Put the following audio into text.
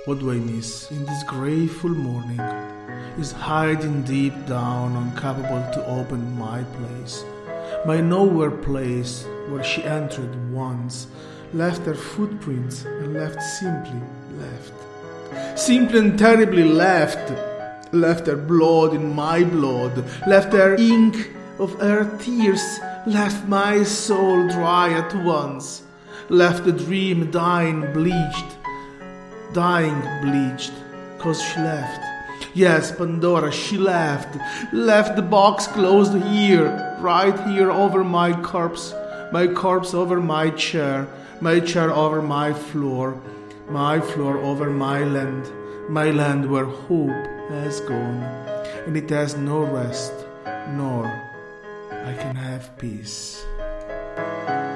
What do I miss in this grateful morning is hiding deep down, incapable to open my place, my nowhere place where she entered once, left her footprints and left simply and terribly left her blood in my blood, left her ink of her tears, left my soul dry at once, left the dream dying bleached, 'cause she left. Yes, Pandora, she left the box closed here, right here over my corpse over my chair over my floor over my land where hope has gone, and it has no rest, nor I can have peace.